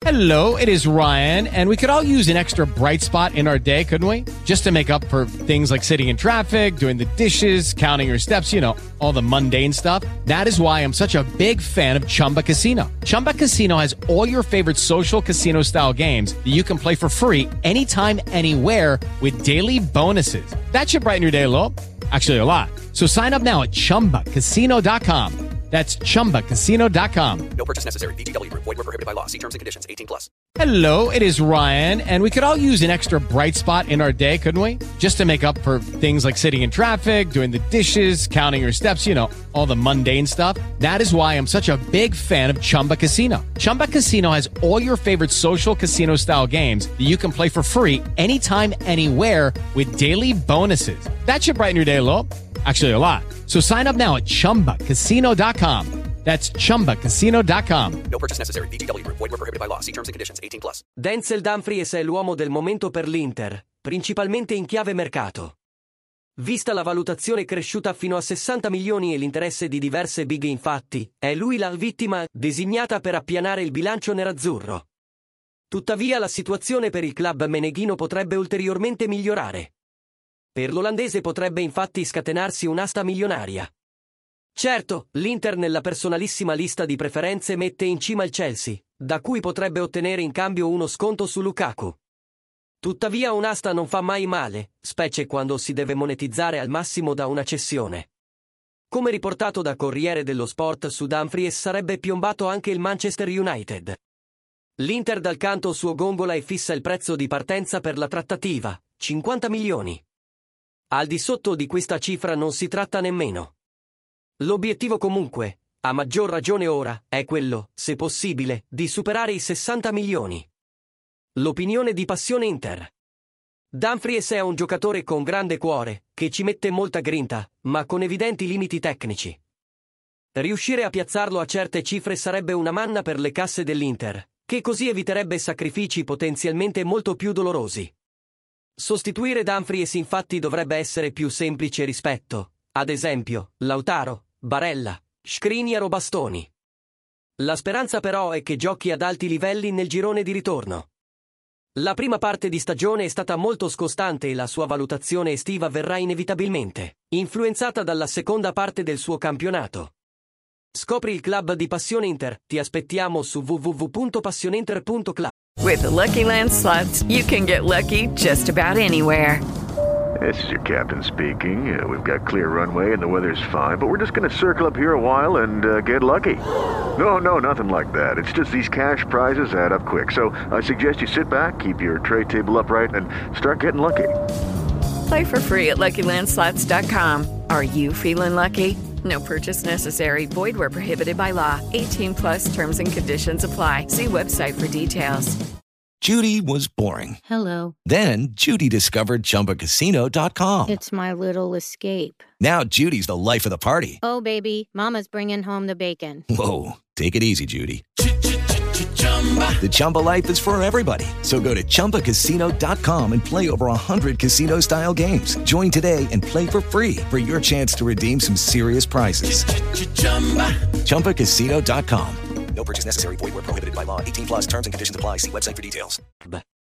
Hello, it is Ryan, and we could all use an extra bright spot in our day, couldn't we? Just to make up for things like sitting in traffic, doing the dishes, counting your steps, you know, all the mundane stuff. That is why I'm such a big fan of Chumba Casino. Chumba Casino has all your favorite social casino-style games that you can play for free anytime, anywhere with daily bonuses. That should brighten your day a little. Actually, a lot. So sign up now at ChumbaCasino.com. That's ChumbaCasino.com. No purchase necessary. VGW Group. Void where prohibited by law. See terms and conditions. 18+. Hello, it is Ryan, and we could all use an extra bright spot in our day, couldn't we? Just to make up for things like sitting in traffic, doing the dishes, counting your steps, you know, all the mundane stuff. That is why I'm such a big fan of Chumba Casino. Chumba Casino has all your favorite social casino-style games that you can play for free anytime, anywhere with daily bonuses. That should brighten your day a little. Actually, a lot. So sign up now at ChumbaCasino.com. That's ChumbaCasino.com. No purchase necessary. VGW Group. Void where prohibited by law. See terms and conditions. 18+. Denzel Dumfries è l'uomo del momento per l'Inter, principalmente in chiave mercato. Vista la valutazione cresciuta fino a 60 milioni e l'interesse di diverse big, infatti, è lui la vittima designata per appianare il bilancio nerazzurro. Tuttavia la situazione per il club meneghino potrebbe ulteriormente migliorare. Per l'olandese potrebbe infatti scatenarsi un'asta milionaria. Certo, l'Inter nella personalissima lista di preferenze mette in cima il Chelsea, da cui potrebbe ottenere in cambio uno sconto su Lukaku. Tuttavia un'asta non fa mai male, specie quando si deve monetizzare al massimo da una cessione. Come riportato da Corriere dello Sport, su Dumfries sarebbe piombato anche il Manchester United. L'Inter dal canto suo gongola e fissa il prezzo di partenza per la trattativa, 50 milioni. Al di sotto di questa cifra non si tratta nemmeno. L'obiettivo comunque, a maggior ragione ora, è quello, se possibile, di superare i 60 milioni. L'opinione di Passione Inter. Dumfries è un giocatore con grande cuore, che ci mette molta grinta, ma con evidenti limiti tecnici. Riuscire a piazzarlo a certe cifre sarebbe una manna per le casse dell'Inter, che così eviterebbe sacrifici potenzialmente molto più dolorosi. Sostituire Dumfries infatti dovrebbe essere più semplice rispetto, ad esempio, Lautaro, Barella, Skriniar o Bastoni. La speranza però è che giochi ad alti livelli nel girone di ritorno. La prima parte di stagione è stata molto scostante e la sua valutazione estiva verrà inevitabilmente influenzata dalla seconda parte del suo campionato. Scopri il club di Passione Inter, ti aspettiamo su www.passioneinter.club. With the Lucky Land Slots, you can get lucky just about anywhere. This is your captain speaking. We've got clear runway and the weather's fine, but we're just going to circle up here a while and get lucky. No, nothing like that. It's just these cash prizes add up quick. So I suggest you sit back, keep your tray table upright, and start getting lucky. Play for free at LuckyLandSlots.com. Are you feeling lucky? No purchase necessary. Void where prohibited by law. 18+ terms and conditions apply. See website for details. Judy was boring. Hello. Then Judy discovered ChumbaCasino.com. It's my little escape. Now Judy's the life of the party. Oh, baby, mama's bringing home the bacon. Whoa, take it easy, Judy. The Chumba life is for everybody. So go to ChumbaCasino.com and play over 100 casino-style games. Join today and play for free for your chance to redeem some serious prizes. ChumbaCasino.com. No purchase necessary. Void where prohibited by law. 18+. Terms and conditions apply. See website for details.